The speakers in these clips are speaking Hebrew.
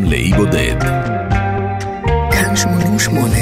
לאי בודד. כאן 88.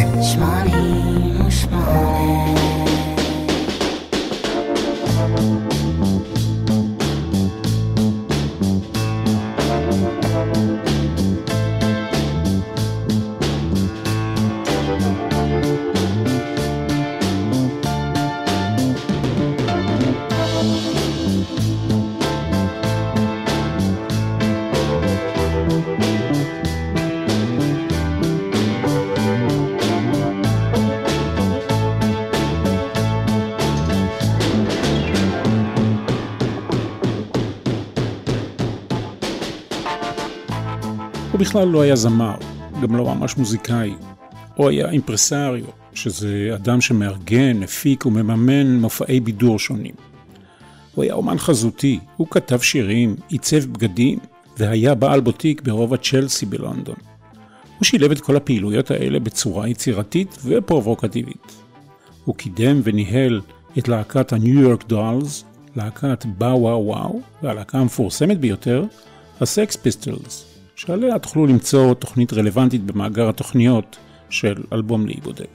הוא בכלל לא היה זמר, גם לא ממש מוזיקאי. הוא היה אימפרסריו, שזה אדם שמארגן, מפיק ומממן מופעי בידור שונים. הוא היה אומן חזותי, הוא כתב שירים, עיצב בגדים, והיה בעל בוטיק ברובע צ'לסי בלונדון. הוא שילב את כל הפעילויות האלה בצורה יצירתית ופרובוקטיבית. הוא קידם וניהל את להקת הניו יורק דולס, להקת באו וואו וואו, והלהקה המפורסמת ביותר, הסקס פיסטלס, שעליה תוכלו למצוא תוכנית רלוונטית במאגר התוכניות של אלבום לאי בודד.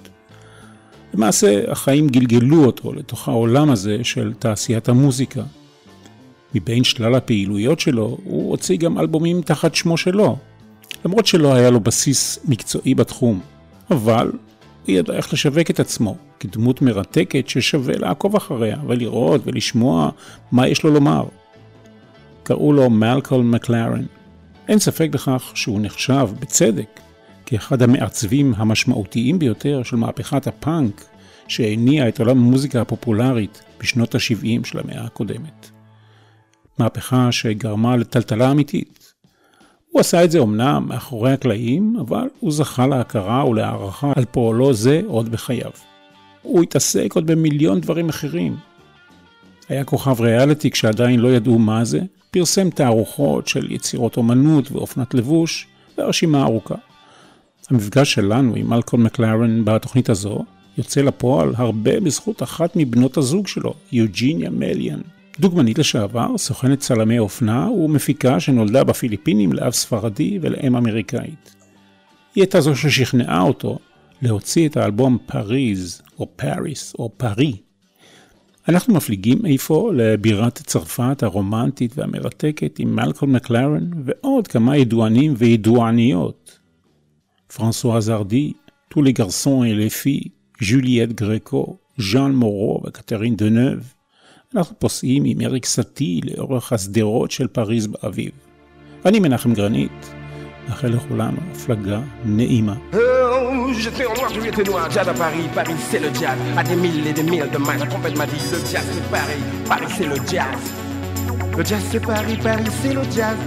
למעשה, החיים גלגלו אותו לתוך העולם הזה של תעשיית המוזיקה. מבין שלל הפעילויות שלו, הוא הוציא גם אלבומים תחת שמו שלו, למרות שלא היה לו בסיס מקצועי בתחום, אבל הוא ידע איך לשווק את עצמו, כדמות מרתקת ששווה לעקוב אחריה ולראות ולשמוע מה יש לו לומר. קראו לו מלקולם מקלרן. אין ספק בכך שהוא נחשב בצדק כאחד המעצבים המשמעותיים ביותר של מהפכת הפאנק שהניעה את עולם המוזיקה הפופולרית בשנות ה-70 של המאה הקודמת. מהפכה שגרמה לטלטלה אמיתית. הוא עשה את זה אומנם מאחורי הקלעים, אבל הוא זכה להכרה ולהערכה על פועלו זה עוד בחייו. הוא התעסק עוד במיליון דברים אחרים. היה כוכב ריאליטי כשעדיין לא ידעו מה זה, פרסם תערוכות של יצירות אומנות ואופנת לבוש, והרשימה ארוכה. המפגש שלנו עם מלקולם מקלרן בתוכנית הזו יוצא לפועל הרבה בזכות אחת מבנות הזוג שלו, יוג'יניה מליאן. דוגמנית לשעבר, סוכנת צלמי אופנה ומפיקה שנולדה בפיליפינים לאב ספרדי ולאם אמריקאית. היא הייתה זו ששכנעה אותו להוציא את האלבום פריז או פריס או פרי. אנחנו מפליגים איפה לבירת צרפת הרומנטית והמרתקת עם מלקולם מקלרן ועוד כמה ידוענים וידועניות. פרנסואז הרדי, tous les garçons et les filles, ג'וליאט גרקו, ז'אן מורו וקטרין דנוב. אנחנו פוסעים עם אריק סאטי לאורך הסדרות של פריז באביב. אני מנחם גרנית, מאחל לכולנו הפלגה נעימה. Je suis en noir, tu étais noir, jazz à Paris, Paris c'est le jazz, à des milliers et des milliers de miles, la trompette m'a dit, le jazz c'est Paris, Paris c'est le jazz. Le jazz c'est Paris, Paris c'est le jazz.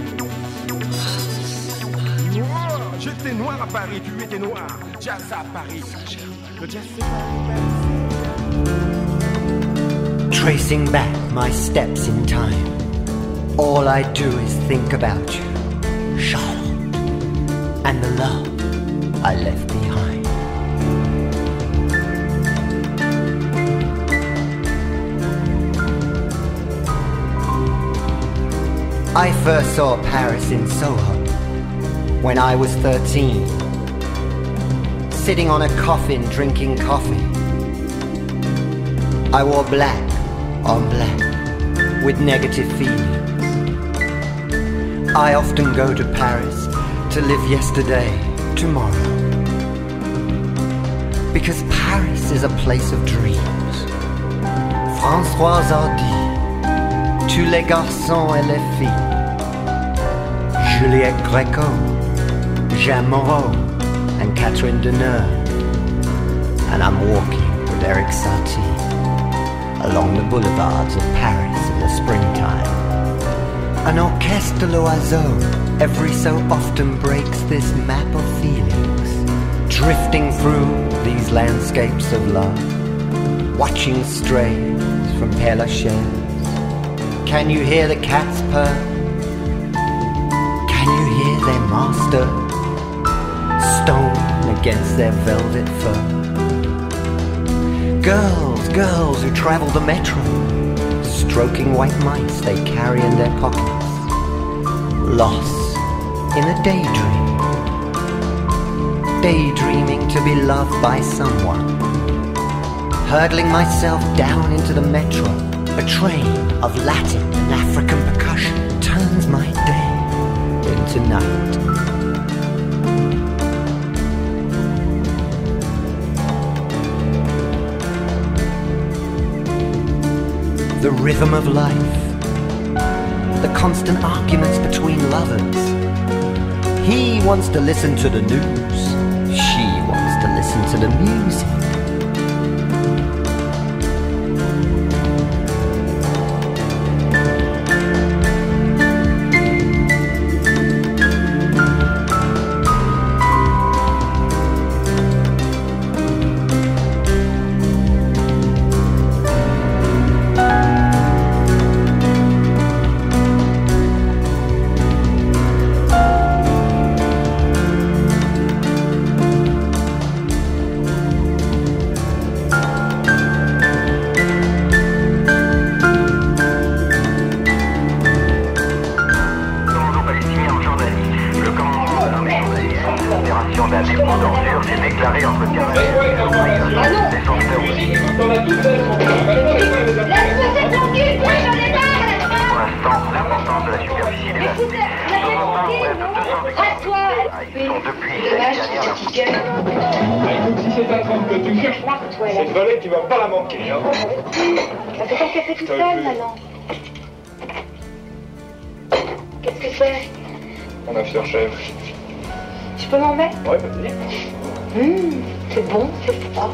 Noir, j'étais noir à Paris, tu étais noir, jazz à Paris. Le jazz c'est Paris, Paris c'est le jazz. Tracing back my steps in time, all I do is think about you, Charlotte, and the love I left behind. I first saw Paris in Soho when I was 13, sitting on a coffin drinking coffee. I wore black on black with negative feelings. I often go to Paris to live yesterday, tomorrow, because Paris is a place of dreams. Françoise Hardy, tous les garçons et les filles, Juliette Gréco, Jean Moreau and Catherine Deneuve. And I'm walking with Eric Satie along the boulevards of Paris in the springtime. An orchestre l'oiseau every so often breaks this map of feelings, drifting through these landscapes of love, watching strays from Père Lachaise. Can you hear the cats purr? Can you hear their master stone against their velvet fur? Girls who travel the metro, stroking white mice they carry in their pockets, lost in a daydream daydreaming to be loved by someone. Hurdling myself down into the metro, a train of Latin and African percussion turns my day into night. The rhythm of life, the constant arguments between lovers. He wants to listen to the news, she wants to listen to the music. Cette volée, tu vas pas la manquer, hein. Bah, c'est ton café tout seul, maintenant. Qu'est-ce que c'est? Mon aftershave. Je peux m'en mettre? Ouais, vas-y. C'est bon, c'est fort.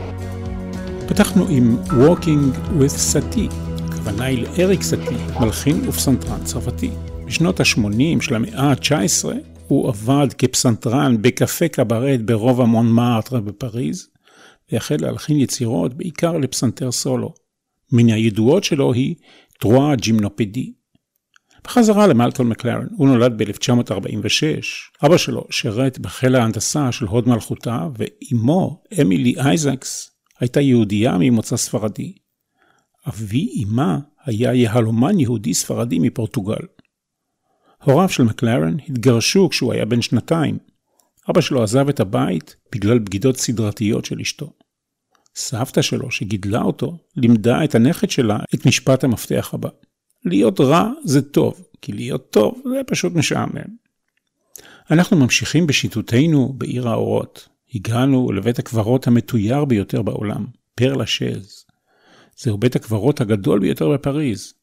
פתחנו עם Walking with סטי, הכוונה היא לאריק סטי, מלחין ופסנתרן צרפתי. בשנות ה-80 של המאה ה-19 הוא עבד כפסנתרן בקפה קברט ברובע מונמרטר בפריז, והחל להלחין יצירות בעיקר לפסנתר סולו. מן הידועות שלו היא טרואה ג'ימנופדי. בחזרה למלקולם מקלרן, הוא נולד ב-1946. אבא שלו שירת בחיל ההנדסה של הוד מלכותה, ואימו, אמילי אייזקס, הייתה יהודייה ממוצא ספרדי. אבי אימה היה יהלומן יהודי ספרדי מפורטוגל. הוריו של מקלרן התגרשו כשהוא היה בן 2. אבא שלו עזב את הבית בגלל בגידות סדרתיות של אשתו. סבתא שלו שגידלה אותו לימדה את הנכד שלה את משפט המפתח הבא. להיות רע זה טוב, כי להיות טוב זה פשוט משעמם. אנחנו ממשיכים בשיטותינו בעיר האורות. הגענו לבית הקברות המתויר ביותר בעולם, פר לשז. זהו בית הקברות הגדול ביותר בפריז.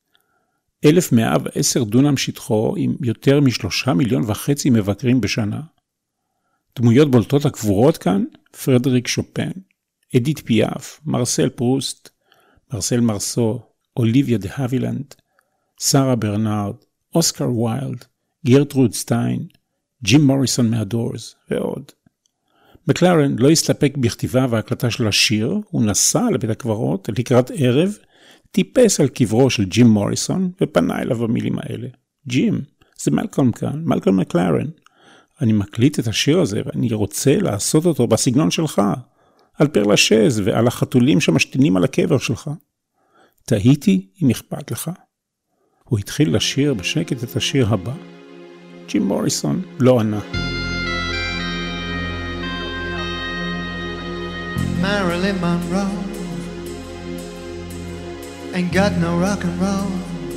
1,110 דונם שטחו עם יותר מ3.5 מיליון מבקרים בשנה. דמויות בולטות הקבורות כאן, פרדריק שופן, אדית פיאף, מרסל פרוסט, מרסל מרסו, אוליביה דה האבילנד, שרה ברנארד, אוסקר ויילד, גרטרוד סטיין, ג'ים מוריסון מהדורס ועוד. מקלרן לא הסתפק בכתיבה והקלטה של השיר, הוא נסע לבית הקברות לקראת ערב, טיפס על קברו של ג'ים מוריסון ופנה אליו במילים האלה. ג'ים, זה מלקולם כאן, מלקולם מקלרן. אני מקליט את השיר הזה ואני רוצה לעשות אותו בסגנון שלך, על פר לשז ועל החתולים שמשתינים על הקבר שלך. תהיתי אם אכפת לך. הוא התחיל לשיר בשקט את השיר הבא. ג'ים מוריסון לא ענה. Marilyn Monroe ain't got no rock and roll,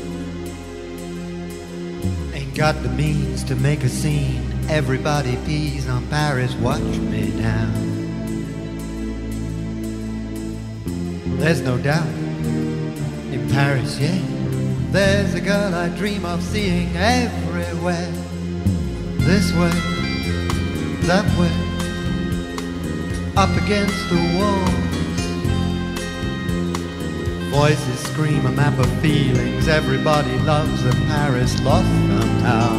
ain't got the means to make a scene. Everybody pees on Paris, watch me now. There's no doubt in Paris, yeah, there's a girl I dream of seeing everywhere. This way, that way, up against the walls. Voices scream a map of feelings. Everybody loves a Paris lost somehow.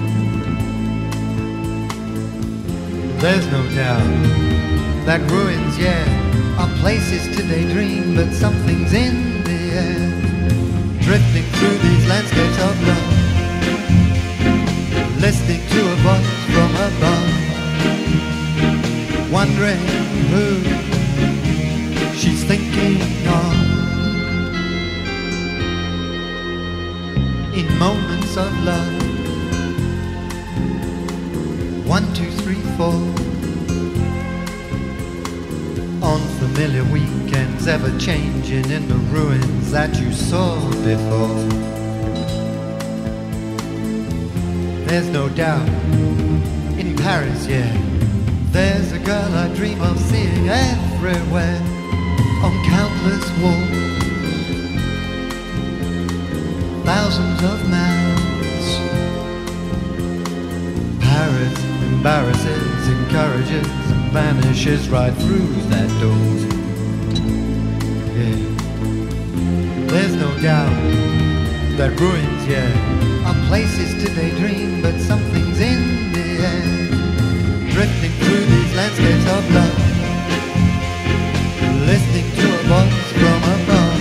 There's no doubt that ruins, yeah, are places to daydream, but something's in the air, drifting through these landscapes of love, listening to a voice from above, wondering who she's thinking of. In moments of love, 1, 2, 3, 4, familiar weekends ever changing in the ruins that you saw before. There's no doubt in Paris, yeah, there's a girl I dream of seeing everywhere on countless walls, thousands of miles. Paris embarrasses, encourages, and vanishes right through that door. Yeah, there's no doubt that ruins, yeah, are places to daydream, but something's in the air, drifting through these landscapes of love, listening to a voice from above.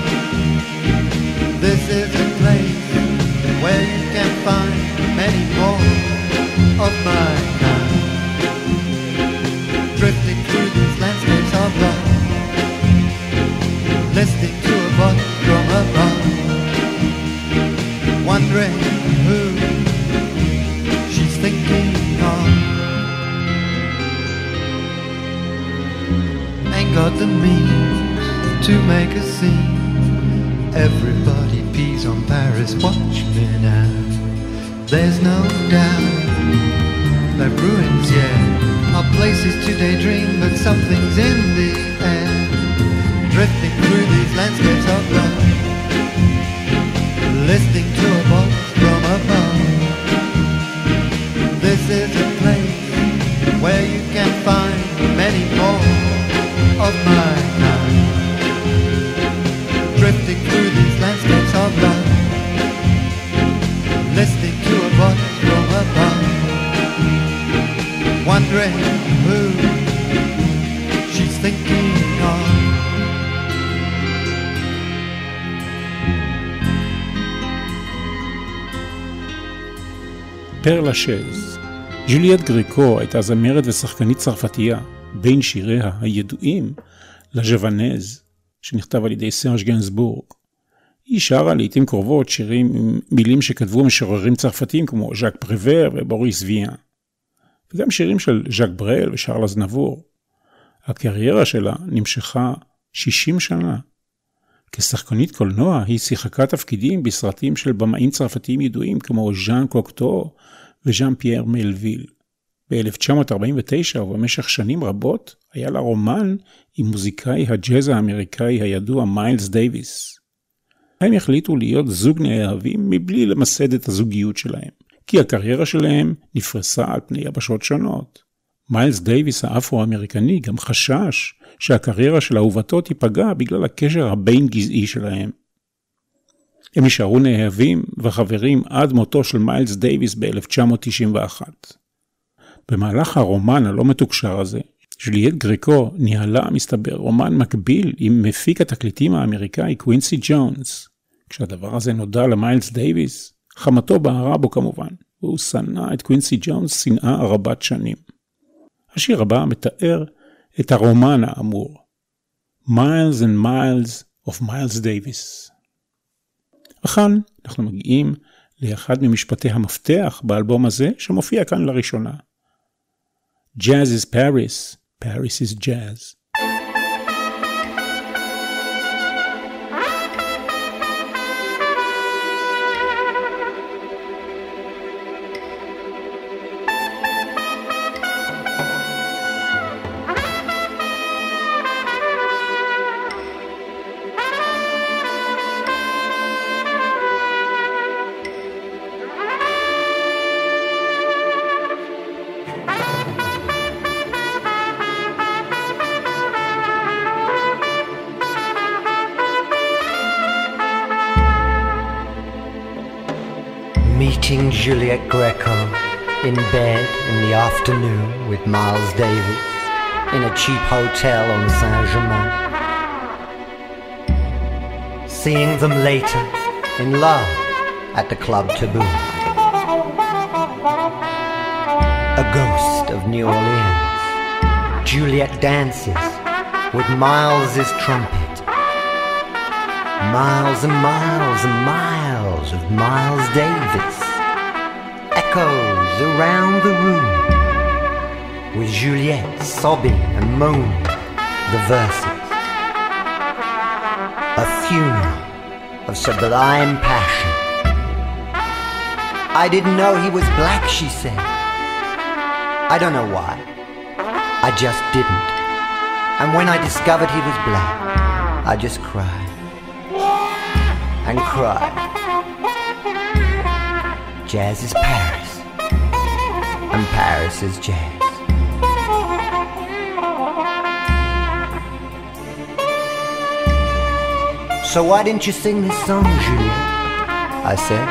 This is a place where you can find many more of my kind, drifting through these landscapes of love, listening to a voice from above, wondering who she's thinking of. Ain't got the means to make a scene. Everybody pees on Paris, watch me now. There's no doubt that ruins, yeah, are places to daydream, but something's in the air, drifting through these landscapes of love, listening to a voice from above. This is a place where you can find many more of my kind, drifting through these landscapes of love, listening to a voice from above, wondering who she's thinking of. פר לשז. ז'וליאט גריקו הייתה זמרת ושחקנית צרפתייה, בין שיריה הידועים לז'וונז, שנכתב על ידי סרג' גנסבורג. היא שרה לעתים קרובות שירים עם מילים שכתבו משוררים צרפתיים כמו ז'אק פריבר ובוריס ויאן, וגם שירים של ז'אק ברל ושרל אזנבור. הקריירה שלה נמשכה 60 שנה. כשחקנית קולנוע היא שיחקה תפקידים בסרטים של במאים צרפתיים ידועים כמו ז'אן קוקטו וז'אן פייר מלוויל. ב-1949 ובמשך שנים רבות היה לה רומן עם מוזיקאי הג'אז האמריקאי הידוע מיילס דייביס. הם החליטו להיות זוג נאהבים מבלי למסד את הזוגיות שלהם, כי הקריירה שלהם נפרסה על פני יבשות שונות. מיילס דייביס האפרו-אמריקני גם חשש שהקריירה של אהובתו תיפגע בגלל הקשר הבין גזעי שלהם. הם נשארו נאהבים וחברים עד מותו של מיילס דייביס ב-1991. במהלך הרומן הלא מתוקשר הזה, ז'וליאט גריקו ניהלה מסתבר רומן מקביל עם מפיק התקליטים האמריקאי קווינסי ג'ונס. כשהדבר הזה נודע למיילס דייביס, חמתו בערה בו כמובן, והוא שנא את קווינסי ג'ונס שנאה רבת שנים. השיר הבא מתאר את הרומן האמור, Miles and Miles of Miles Davis. וכאן אנחנו מגיעים לאחד ממשפטי המפתח באלבום הזה שמופיע כאן לראשונה. Jazz is Paris, Paris is jazz. Meeting Juliet Greco in bed in the afternoon with Miles Davis in a cheap hotel on Saint-Germain. Seeing them later in love at the Club Taboo. A ghost of New Orleans. Juliet dances with Miles's trumpet. Miles and miles and miles of Miles Davis echoes around the room, with Juliet sobbing and moaning, the verses. A funeral of sublime passion. I didn't know he was black, she said. I don't know why. I just didn't. And when I discovered he was black, I just cried. And cried. Jazz is Paris. And Paris is jazz. So why didn't you sing this song, Juliet? I said.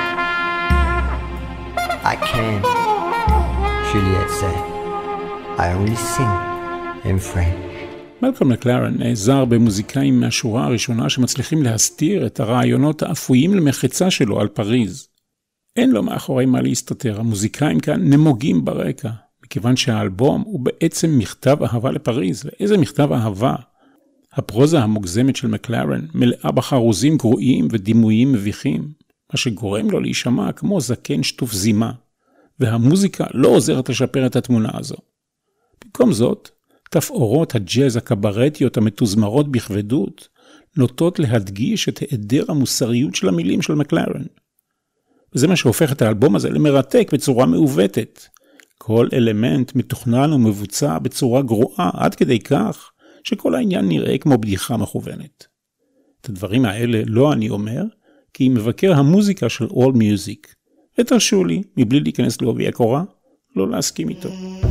I can't, Juliet said. I only sing in French. מלקום מקלרן נעזר במוזיקאים מהשורה הראשונה שמצליחים להסתיר את הרעיונות האפויים למחצה שלו על פריז. אין לו מאחורי מה להסתתר, המוזיקאים כאן נמוגים ברקע, מכיוון שהאלבום הוא בעצם מכתב אהבה לפריז. ואיזה מכתב אהבה? הפרוזה המוגזמת של מקלרן מלאה בחרוזים גרועים ודימויים מביכים, מה שגורם לו להישמע כמו זקן שטוף זימה, והמוזיקה לא עוזרת לשפר את התמונה הזו. במקום זאת, תפאורות הג'אז הקברטיות המתוזמרות בכבדות נוטות להדגיש את היעדר המוסריות של המילים של מקלרן. וזה מה שהופך את האלבום הזה למרתק בצורה מעוותת. כל אלמנט מתוכנן ומבוצע בצורה גרועה עד כדי כך שכל העניין נראה כמו בדיחה מכוונת. את הדברים האלה לא אני אומר, כי מבקר המוזיקה של All Music, ותרשו לי, מבלי להיכנס לעובי הקורה, לא להסכים איתו.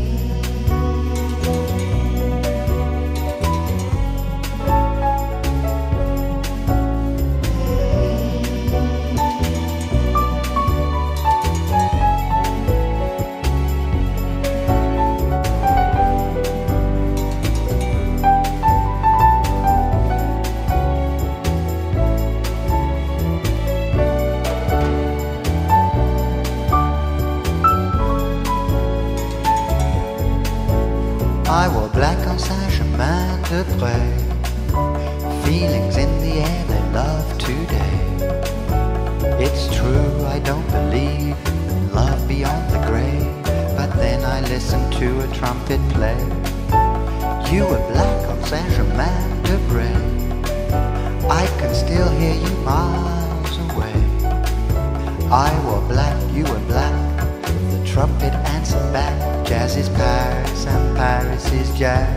I wore black on Saint-Germain-de-Prés. Feelings in the air they love today. It's true, I don't believe in love beyond the grave, but then I listened to a trumpet play. You were black on Saint-Germain-de-Prés. I can still hear you miles away. I wore black, you were black. The trumpet answered back. Jazz is Paris and Paris is jazz.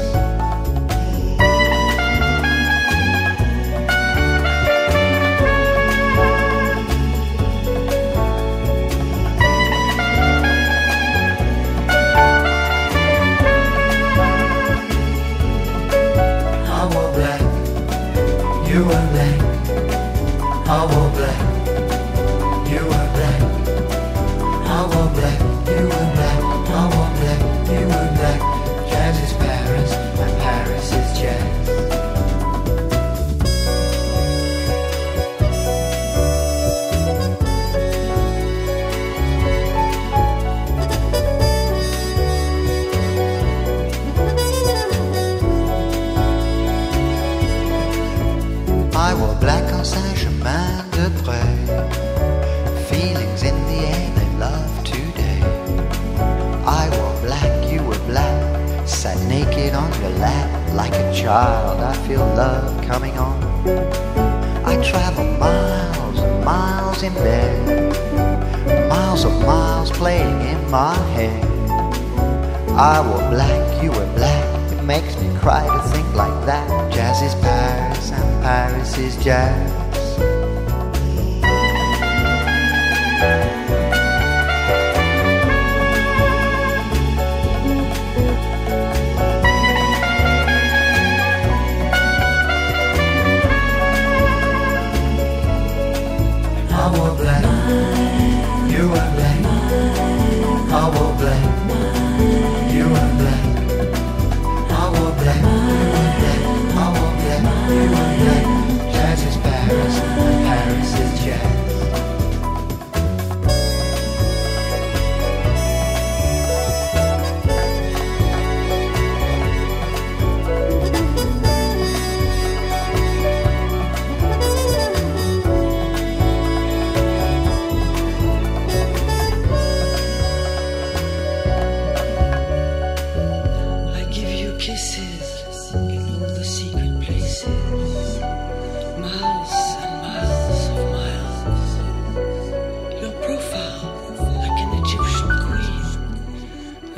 I wore black, you were black. I wore black, you were black. I wore black, you were black. I wore black, you were black. Jazz is Paris, and Paris is jazz. I wore black on Saint-Germain-de-Prés. Feelings in the air they love today. I wore black, you were black. Sat naked on your lap like a child. I feel love coming on. I travel miles and miles in bed. Miles of miles playing in my head. I wore black, you were black. It makes me cry to think like that. Jazz is Paris and Paris is jazz. I wore black, you were black. I wore black, you were black. I wore black, you were black. I wore black, you were black. Jazz is Paris.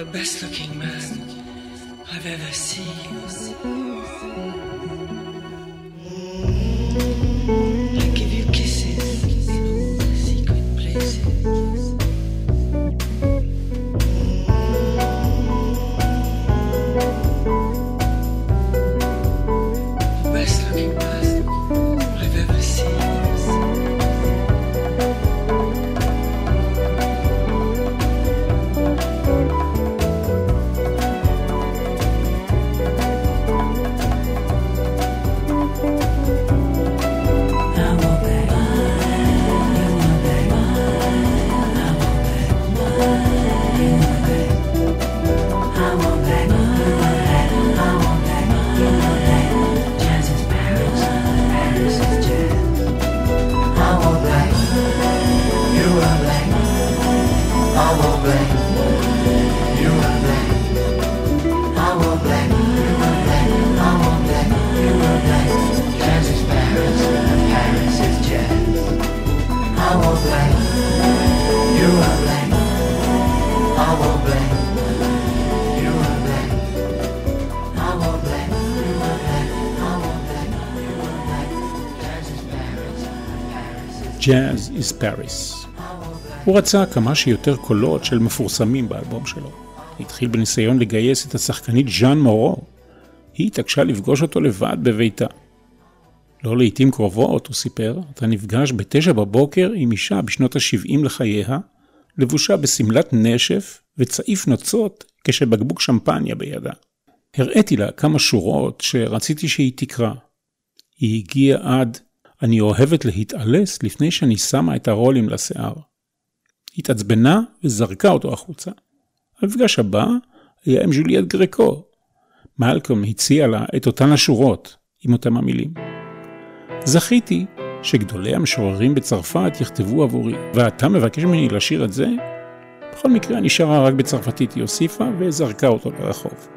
best looking man I've ever seen. I give you kisses in all the secret places. The best looking man I've ever seen. Jazz is Paris. הוא רצה כמה שיותר קולות של מפורסמים באלבום שלו. התחיל בניסיון לגייס את השחקנית ז'אן מורו. היא התעקשה לפגוש אותו לבד בביתה. לא לעתים קרובות, הוא סיפר, אתה נפגש ב9 בבוקר עם אישה בשנות ה-70 לחייה, לבושה בסמלת נשף וצעיף נוצות כשבקבוק שמפניה בידה. הראיתי לה כמה שורות שרציתי שהיא תקרא. היא הגיעה עד אני אוהבת להתעלס לפני שאני שמה את הרולים לשיער. התעצבנה וזרקה אותו החוצה. המפגש הבא היה עם ז'וליאט גרקו. מלקום הציע לה את אותן השורות עם אותם המילים. זכיתי שגדולי המשוררים בצרפת יכתבו עבורי, ואתה מבקש ממני לשיר את זה? בכל מקרה נשארה רק בצרפתית, היא הוסיפה וזרקה אותו לרחוב.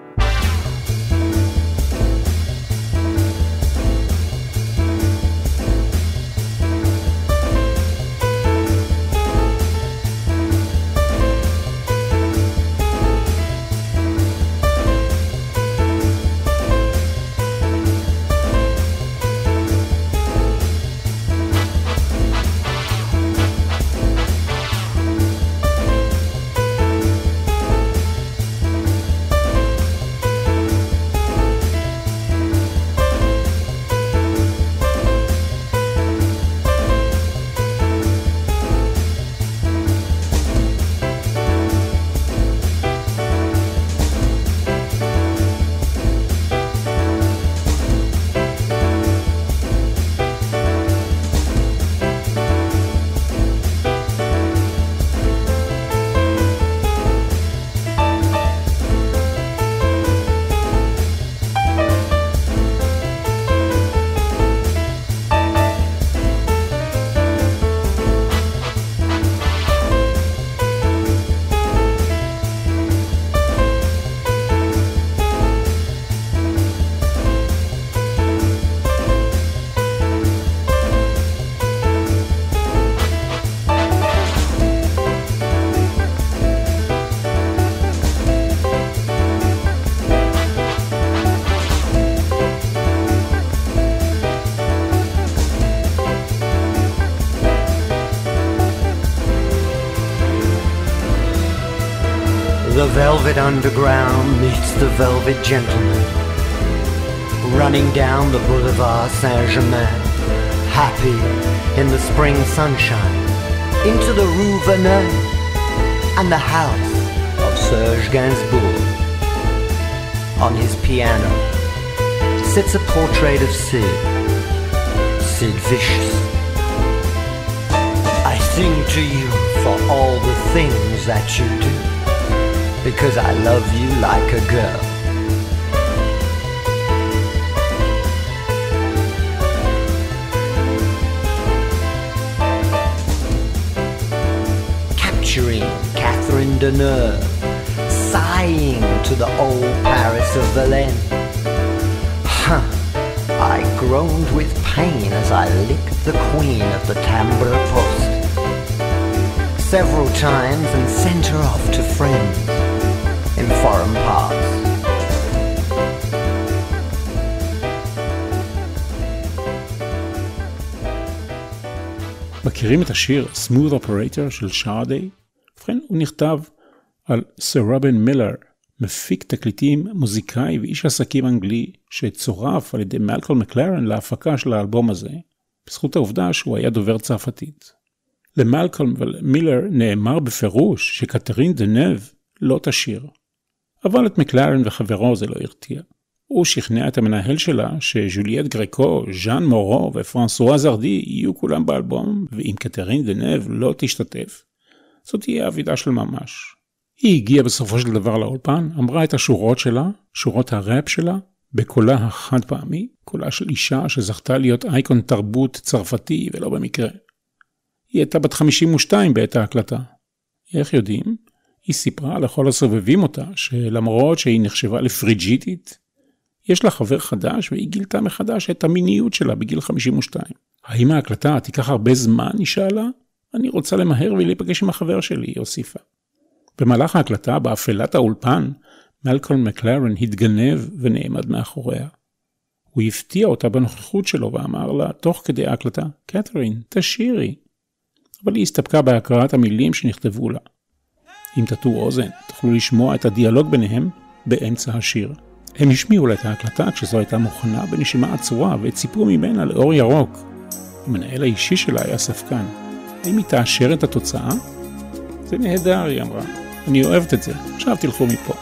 The velvet underground meets the velvet gentleman, running down the Boulevard Saint-Germain, happy in the spring sunshine, into the Rue Verneuil and the house of Serge Gainsbourg. On his piano sits a portrait of Sid Vicious. I sing to you for all the things that you do, because I love you like a girl. Capturing Catherine Deneuve, sighing to the old Paris of Verlaine. I groaned with pain as I licked the queen of the Timbre Poste several times and sent her off to friends. foreign parts. מכירים את השיר Smooth Operator של שרדי? ובכן, הוא נכתב על סר רובין מילר, מפיק תקליטים, מוזיקאי ואיש עסקים אנגלי, שצורף על ידי מלקולם מקלרן להפקה של האלבום הזה, בזכות העובדה שהוא היה דובר צרפתית. למלקולם ומילר נאמר בפירוש שקתרין דנב לא תשיר. אבל את מקלרן וחברו זה לא הרתיע. הוא שכנע את המנהל שלה שז'וליאט גרקו, ז'אן מורו ופרנסואה זרדי יהיו כולם באלבום, ואם קתרין דנב לא תשתתף, זאת תהיה עבידה של ממש. היא הגיעה בסופו של דבר לאולפן, אמרה את השורות שלה, שורות הראפ שלה, בקולה החד פעמי, קולה של אישה שזכתה להיות אייקון תרבות צרפתי ולא במקרה. היא הייתה בת 52 בעת ההקלטה. איך יודעים? היא סיפרה לכל הסובבים אותה שלמרות שהיא נחשבה לפריג'יטית, יש לה חבר חדש והיא גילתה מחדש את המיניות שלה בגיל 52. האם ההקלטה תיקח הרבה זמן? היא שאלה. אני רוצה למהר ולהיפגש עם החבר שלי, היא הוסיפה. במהלך ההקלטה, באפלת האולפן, מלקולם מקלרן התגנב ונעמד מאחוריה. הוא הפתיע אותה בנוכחות שלו ואמר לה, תוך כדי ההקלטה, קתרין, תשירי. אבל היא הסתפקה בהקראת המילים שנכתבו לה. אם תטו אוזן, תוכלו לשמוע את הדיאלוג ביניהם באמצע השיר. הם השמיעו לה את ההקלטה כשזו הייתה מוכנה בנשימה עצורה וציפו ממנה לאור ירוק. המנהל האישי שלה היה ספקן. האם היא תאשר את התוצאה? זה נהדר, היא אמרה. אני אוהבת את זה. עכשיו תלכו מפה.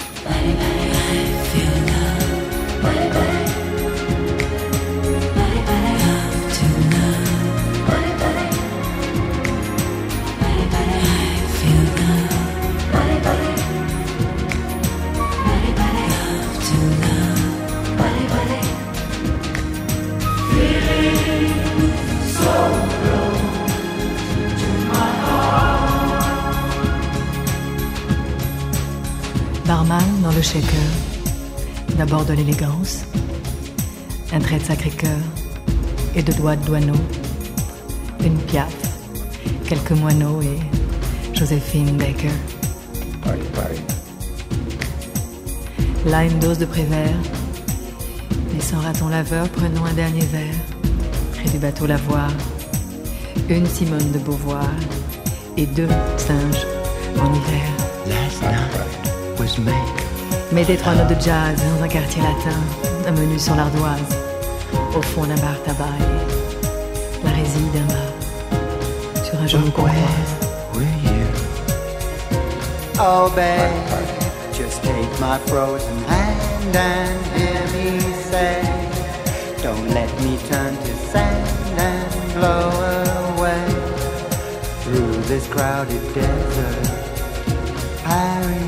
Barman dans le shaker, d'abord de l'élégance, un trait de Sacré-Cœur et de doigts de douaneau, une Piaf, quelques moineaux et Joséphine Baker. Paris. Là une dose de Prévert, et sans raton laveur prenons un dernier verre, près du bateau lavoir, une Simone de Beauvoir et deux singes en hiver. Last night was made. Mettez 3 notes de jazz dans un quartier latin, un menu sur l'ardoise, au fond d'un bar tabac et la résille d'un bar, sur un genou qu'on croise. Were you? Oh babe, just take my frozen hand and hear me say, don't let me turn to sand and blow away through this crowded desert. Paris.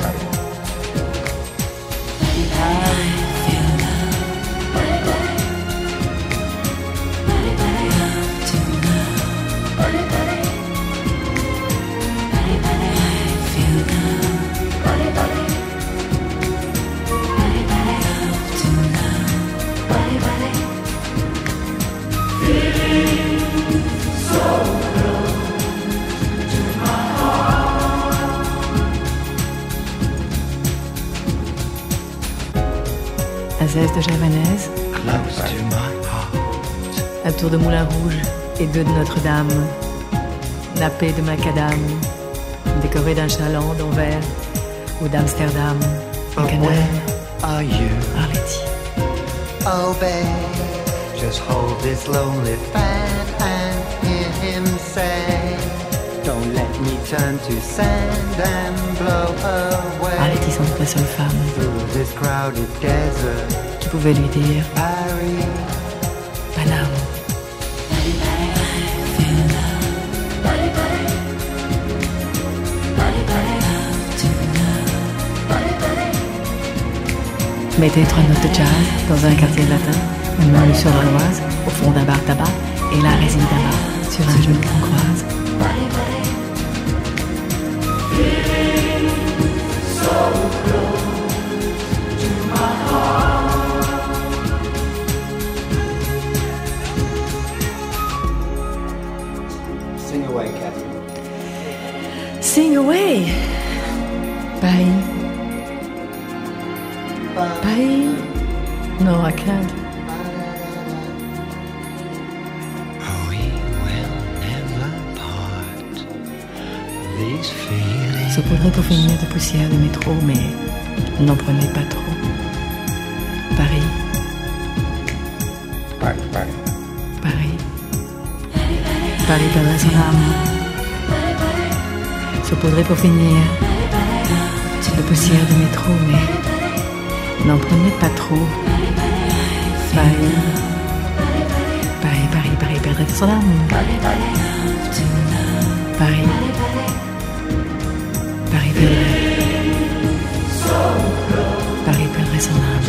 Azès de Javanaise, Close to my heart. un tour de Moulin Rouge et 2 de Notre-Dame, nappé de macadam, décoré d'un chaland d'Anvers ou d'Amsterdam, un canal, Where are you? Arletty. Oh babe, just hold this lonely fan and hear him say, don't let me turn to sand and blow away Arletty sans doute la seule femme through this crowded desert. qui pouvait lui dire Paris. Paname. Mettez 3 notes de jazz dans un quartier latin, un menu sur l'Oise, au fond d'un bar tabac, et la résine d'un bar, sur un genou qu'on croise. Sing away, Catherine. Sing away! Paris, Paris? No, I can't. Saupoudré pour finir de poussière de métro, mais n'en prenez pas trop. Paris. Paris, Paris. Paris. Paris perdrait son âme. Saupoudré pour finir de poussière de métro, mais n'en prenez pas trop. Paris. Paris, Paris, Paris perdrait son âme. Paris. Paris perdrait son âme.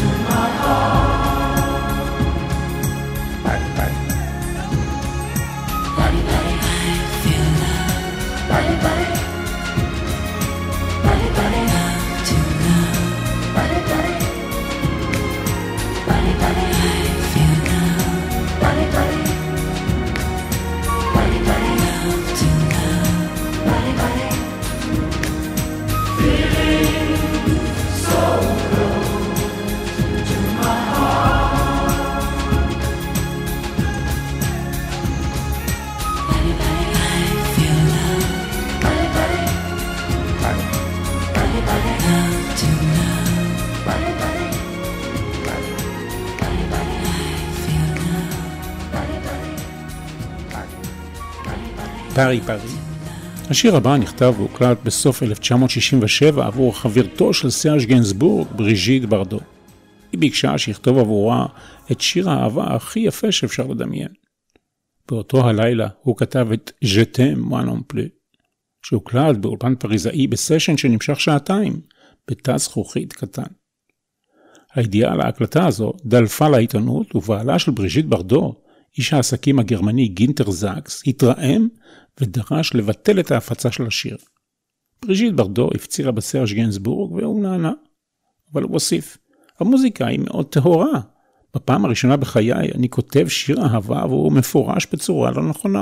פארי פארי. השיר הבא נכתב והוקלט בסוף 1967 עבור חברתו של סרג' גנסבורג, בריז'יט ברדו. היא ביקשה שיכתוב עבורה את שיר האהבה הכי יפה שאפשר לדמיין. באותו הלילה הוא כתב את Je t'aime moi non plus, שהוקלט באולפן פריזאי בסשן שנמשך 2 בתא זכוכית קטן. הידיעה על ההקלטה הזו דלפה לעיתונות, ובעלה של בריז'יט ברדו, איש העסקים הגרמני גינטר זקס, התרעם ודרש לבטל את ההפצה של השיר. בריז'יט ברדו הפצירה בסרג' גנסבורג והוא נענה, אבל הוא הוסיף, המוזיקה היא מאוד טהורה. בפעם הראשונה בחיי אני כותב שיר אהבה והוא מפורש בצורה לא נכונה.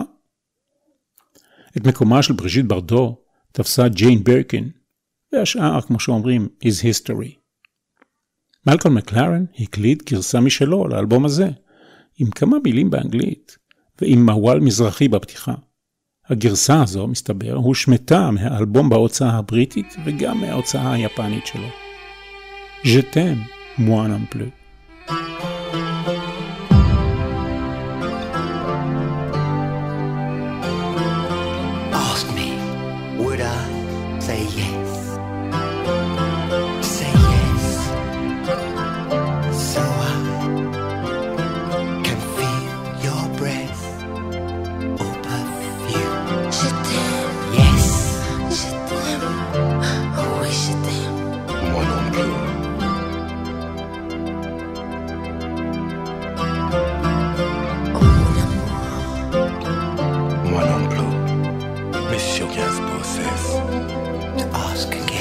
את מקומה של בריז'יט ברדו תפסה ג'יין ברקין, והשאר, כמו שאומרים, is history. מלקולם מקלרן הקליט גרסה משלו לאלבום הזה, עם כמה מילים באנגלית, ועם מוואל מזרחי בפתיחה. הגרסה הזו, מסתבר, הושמטה מהאלבום בהוצאה הבריטית וגם מההוצאה היפנית שלו. Je t'aime, moi non plus. Ask me, would I say yes? Say yes, so I can feel your breath or perfume. Je t'aime, Yes, je t'aime, oh oui je t'aime. Moi non plus. Oh mon amour, Moi non plus. Monsieur Gainsbourg cesse to ask again.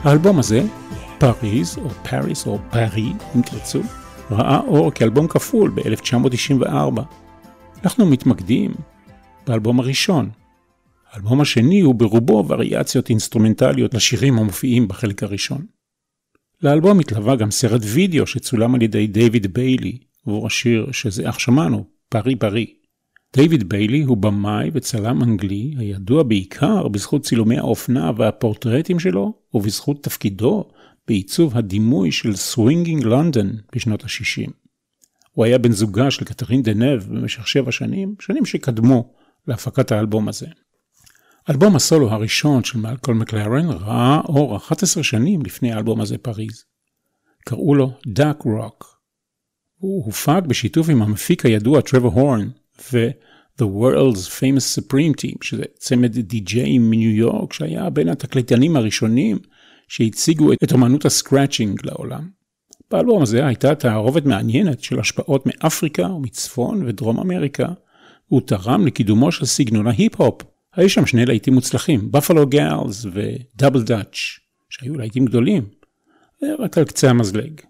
האלבום הזה, פריז או פריס או פארי אם תרצו, ראה אור כאלבום כפול ב-1994. אנחנו מתמקדים באלבום הראשון. האלבום השני הוא ברובו וריאציות אינסטרומנטליות לשירים המופיעים בחלק הראשון. לאלבום התלווה גם סרט וידאו שצולם על ידי דיוויד ביילי, עבור השיר שזה אך שמענו, פארי פארי. דיוויד ביילי הוא במאי וצלם אנגלי הידוע בעיקר בזכות צילומי האופנה והפורטרטים שלו ובזכות תפקידו בעיצוב הדימוי של סווינגינג לונדון בשנות ה-60. הוא היה בן זוגה של קתרין דנב במשך 7 שנים, שנים שקדמו להפקת האלבום הזה. אלבום הסולו הראשון של מלקולם מקלרן ראה אור 11 שנים לפני האלבום הזה פריז. קראו לו דאק רוק. הוא הופק בשיתוף עם המפיק הידוע טרוור הורן ו-The World's Famous Supreme Team, שזה צמד די-ג'אים מניו יורק שהיה בין התקליטנים הראשונים שהציגו את אומנות הסקראצ'ינג לעולם. באלבום הזה הייתה תערובת מעניינת של השפעות מאפריקה ומצפון ודרום אמריקה, והוא תרם לקידומו של סגנון ההיפ-הופ. היו שם 2 להיטים מוצלחים, Buffalo Gals ו-Double Dutch, שהיו להיטים גדולים, רק על קצה המזלג.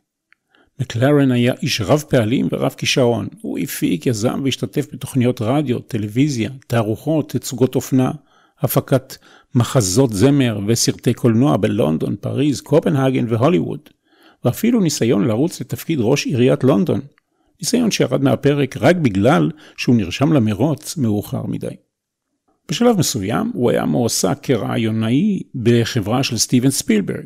מקלרן היה איש רב פעלים ורב כישרון. הוא הפיק, יזם והשתתף בתוכניות רדיו, טלוויזיה, תערוכות, תצוגות אופנה, הפקת מחזות זמר וסרטי קולנוע בלונדון, פריז, קופנהגן והוליווד, ואפילו ניסיון לרוץ לתפקיד ראש עיריית לונדון, ניסיון שירד מהפרק רק בגלל שהוא נרשם למרוץ מאוחר מדי. בשלב מסוים הוא היה מועסק כרעיונאי בחברה של סטיבן ספילברג.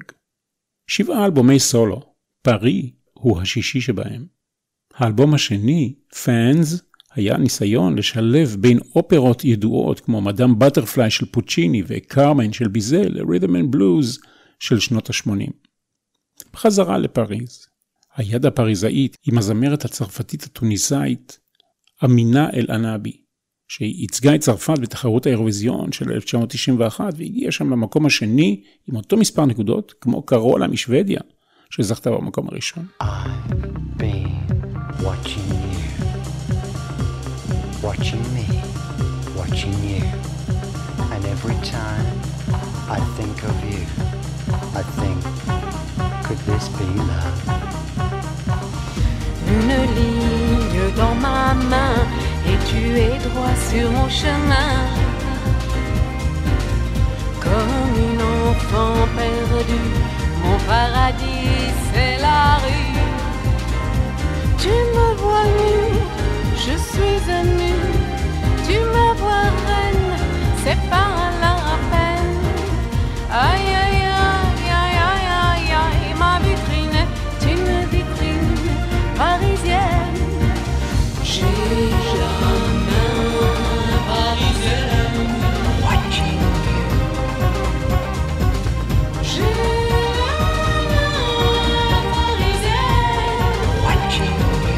7 אלבומי סולו, פארי הוא השישי שבהם. האלבום השני, פאנס, היה ניסיון לשלב בין אופרות ידועות כמו מדאם בטרפליי של פוצ'יני וקרמן של ביזל לרית'ם אנד בלוז של שנות ה-80. בחזרה לפריז, היד הפריזאית עם הזמרת הצרפתית התוניסאית אמינה אל ענבי, שהיא ייצגה את צרפת בתחרות האירוויזיון של 1991 והגיעה שם למקום השני עם אותו מספר נקודות כמו קרולה משוודיה שזכתה במקום הראשון. I've been watching you, watching me, watching you, and every time I think of you, I think, could this be love? Une ligne dans ma main et tu es droit sur mon chemin. Comme une enfant perdue, mon paradis c'est la rue. Tu me vois nue, je suis nue. Tu me vois reine, c'est pas la peine. Aïe aïe aïe aïe aïe aïe aïe, ma vitrine est une vitrine parisienne. J'ai la main parisienne. Watching you. J'ai la main parisienne. Watching you.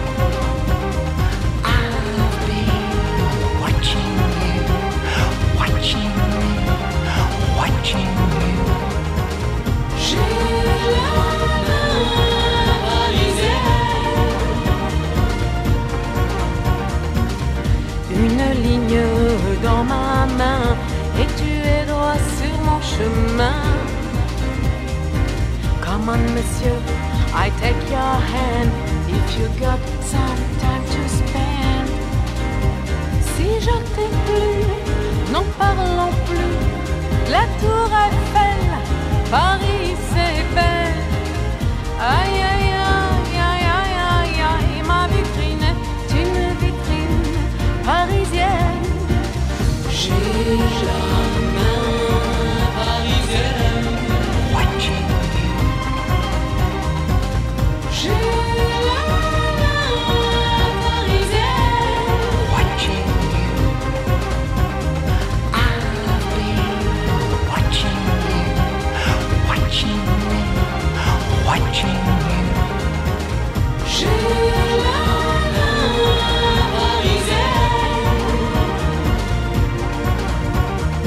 I've been watching you, watching me, watching you. J'ai la main parisienne. Une ligne dans ma main et tu es droit sur mon chemin. Come on, monsieur, I take your hand if you got some time to spend. Si je t'ai plu, n'en parlons plus. La tour Eiffel, Paris c'est belle. Aïe aïe aïe aïe aïe aïe aïe, ma vitrine est une vitrine parisienne. J'ai la main parisienne. Watching you. J'ai la main parisienne. Watching you. I've been watching you, watching me, watching you. J'ai la main parisienne.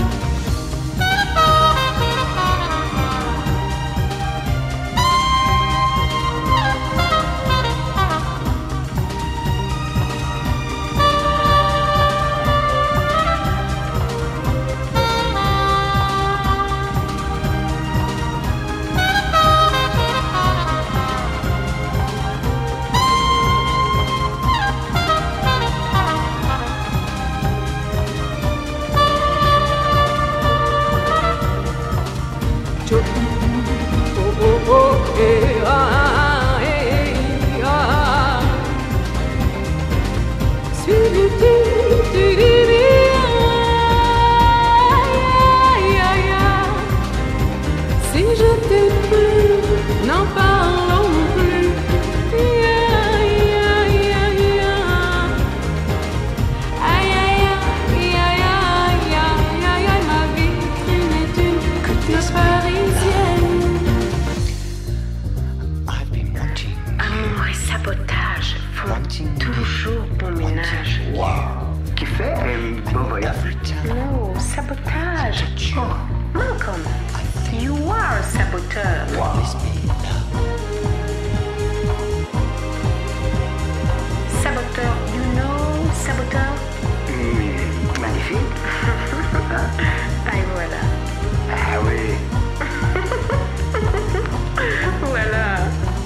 ménage, font toujours bon ménage. Wow. Qui fait bon voyage? No, sabotage. Oh, Malcolm, you are a saboteur. Wow. Saboteur, you know saboteur? Magnifique. Ah, voilà. Ah oui. Voilà.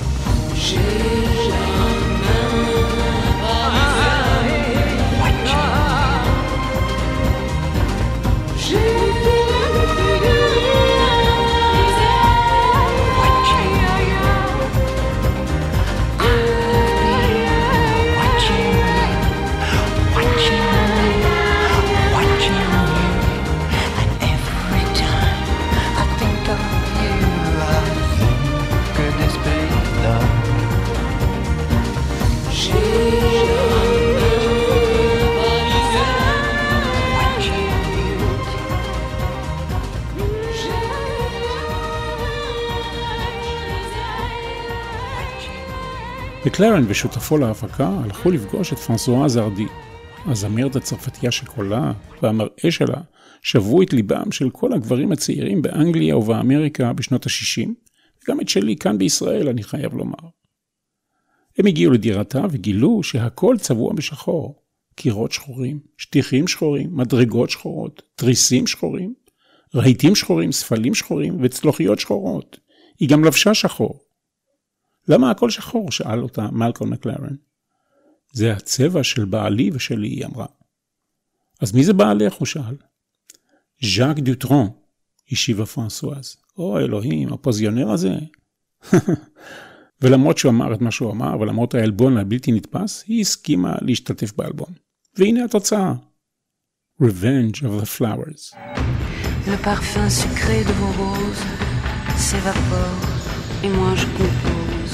מקלרן ושותפו להפקה הלכו לפגוש את פרנסואז הרדי, הזמרת הצרפתייה שקולה והמראה שלה שבו את ליבם של כל הגברים הצעירים באנגליה ובאמריקה בשנות ה-60, וגם את שלי כאן בישראל, אני חייב לומר. הם הגיעו לדירתה וגילו שהכל צבוע בשחור, קירות שחורים, שטיחים שחורים, מדרגות שחורות, תריסים שחורים, רהיטים שחורים, ספלים שחורים וצלוחיות שחורות. היא גם לבשה שחור. למה הכל שחור? שאל אותה מלקום מקלרן. זה הצבע של בעלי ושלי, היא אמרה. אז מי זה בעלך? הוא שאל. ז'אק דוטרון, השיבה פרנסואז. או אלוהים, הפוזיונר הזה. ולמרות שהוא אמר את מה שהוא אמר, ולמרות האלבון הבלתי נתפס, היא הסכימה להשתתף באלבון. והנה התוצאה. Revenge of the Flowers. Le parfum sucré de vos roses s'évapore et moi je compose.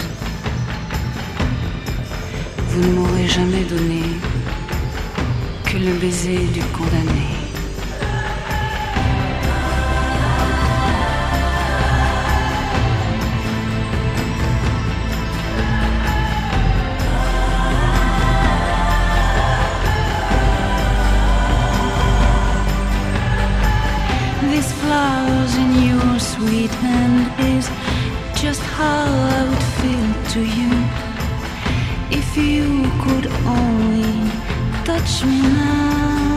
Vous ne m'aurez jamais donné que le baiser du condamné. These flowers in your sweet hand is just how I would feel to you if you could only touch me now.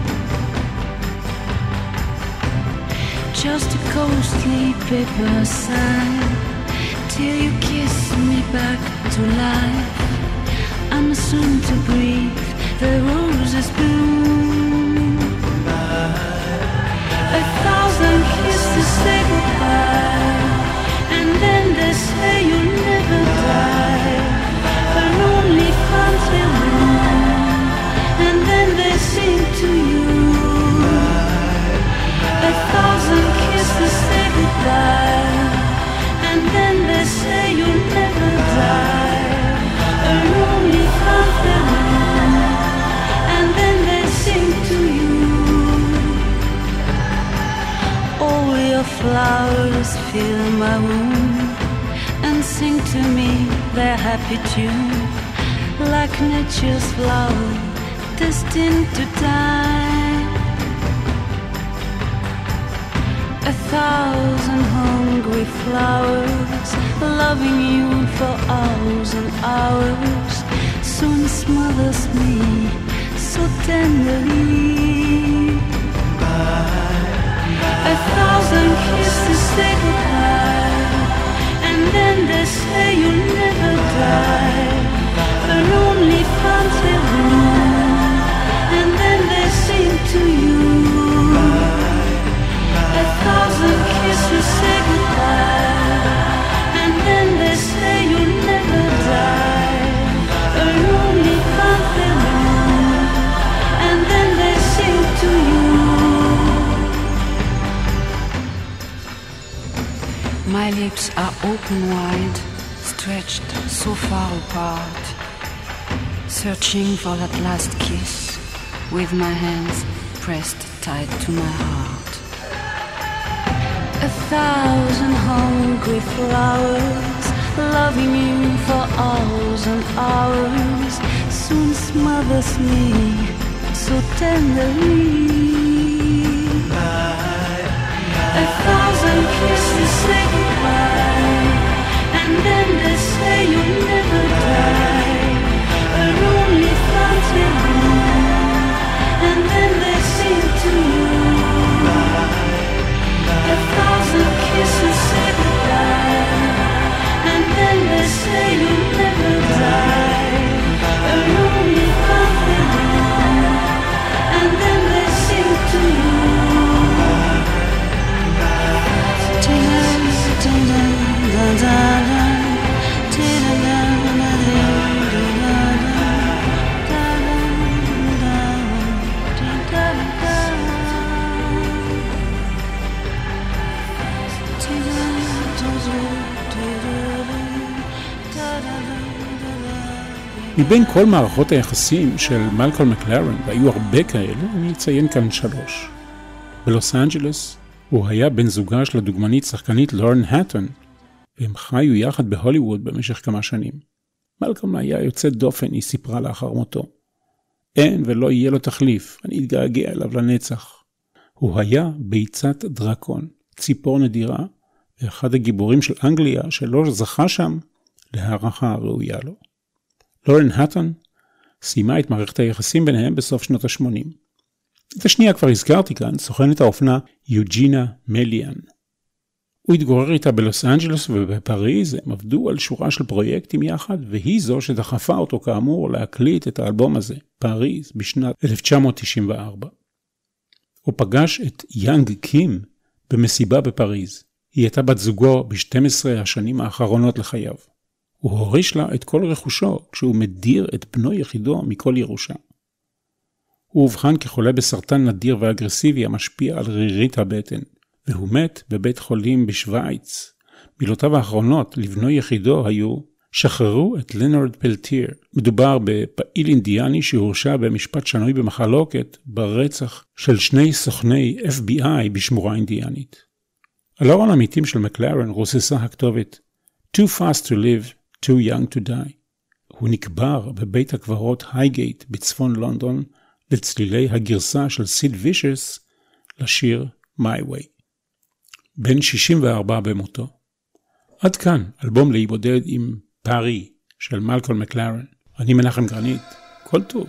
Just a ghostly paper sign till you kiss me back to life. I'm soon to breathe the roses bloom. 1,000 kisses say goodbye, and then they say you'll never die. A lonely fountain bloom, and then they sing to you. 1,000 kisses say goodbye, and then they say you'll never die. A lonely fountain bloom, and then they sing to you. All your flowers fill my room and sing to me their happy tune, like nature's flower destined to die. 1,000 hungry flowers loving you for hours and hours soon smothers me so tenderly. 1,000 kisses say goodbye, and then they say you'll never die. A lonely fountain bloom, and then they sing to you. 1,000 kisses say goodbye, and then they say you'll never die. A lonely fountain bloom, and then they sing to you. My lips are open wide, stretched so far apart, searching for that last kiss, with my hands pressed tight to my heart. 1,000 hungry flowers loving you for hours and hours, soon smothers me so tenderly. A thousand kisses say goodbye, and then they say you'll never die. A lonely rendezvous, and then they sing to you. A thousand kisses say goodbye, and then they say you'll never die. A lonely rendezvous, and then they sing to you. מבין כל מערכות היחסים של מלקולם מקלרן, והיו הרבה כאלו, אני אציין כאן 3. בלוס אנג'לס הוא היה בן זוגה של הדוגמנית שחקנית לורן האטון, והם חיו יחד בהוליווד במשך כמה שנים. מלקולם היה יוצא דופן, היא סיפרה לאחר מותו. אין ולא יהיה לו תחליף, אני אתגעגע אליו לנצח. הוא היה ביצת דרקון, ציפור נדירה, ואחד הגיבורים של אנגליה שלא זכה שם להערכה הראויה לו. לורן האטון סיימה את מערכת היחסים ביניהם בסוף שנות ה-80. את השנייה כבר הזכרתי כאן, סוכנת האופנה יוג'ינה מליאן. הוא התגורר איתה בלוס אנג'לס ובפריז, הם עבדו על שורה של פרויקטים יחד, והיא זו שדחפה אותו כאמור להקליט את האלבום הזה, פריז, בשנת 1994. הוא פגש את יאנג קים במסיבה בפריז. היא הייתה בת זוגו ב-12 השנים האחרונות לחייו. הוא הוריש לה את כל רכושו כשהוא מדיר את בנו יחידו מכל ירושה. הוא הובחן כחולה בסרטן נדיר ואגרסיבי המשפיע על רירית הבטן, והוא מת בבית חולים בשוויץ. מילותיו האחרונות לבנו יחידו היו, שחררו את לנרד פלטיר. מדובר בפעיל אינדיאני שהורשע במשפט שנוי במחלוקת ברצח של 2 סוכני FBI בשמורה אינדיאנית. על ארון המתים של מקלרן רוססה הכתובת Too fast to live, too young to die. הוא נקבר בבית הקברות הייגייט בצפון לונדון לצלילי הגרסה של סיד וישס לשיר My Way. בן 64 במותו. עד כאן אלבום להיבודד עם פארי של מלקולם מקלרן. אני מנחם גרנית, כל טוב.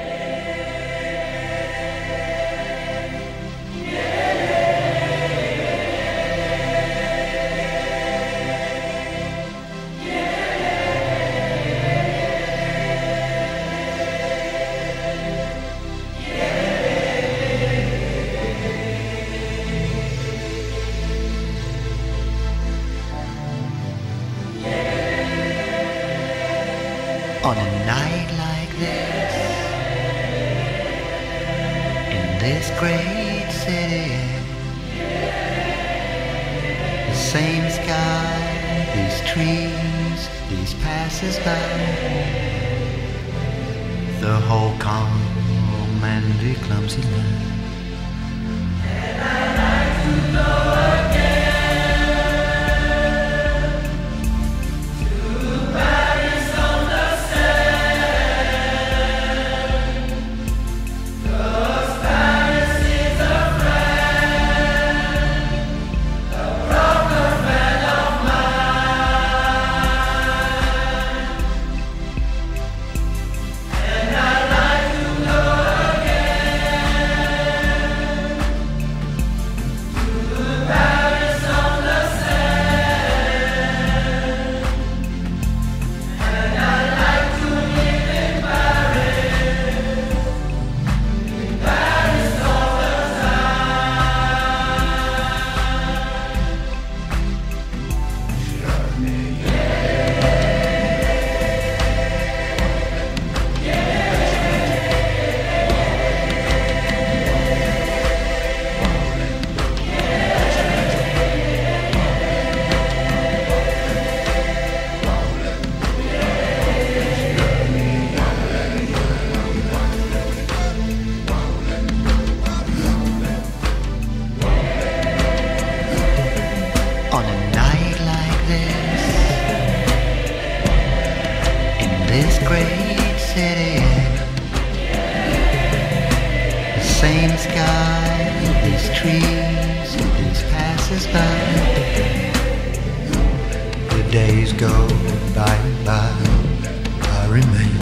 On a night like this, in this great city, the same sky, these trees, these passers-by, the whole calm and the clumsy line. And I'd like to go again. Bye. city. The same sky, these trees, these passers-by. The days go by and by. I remain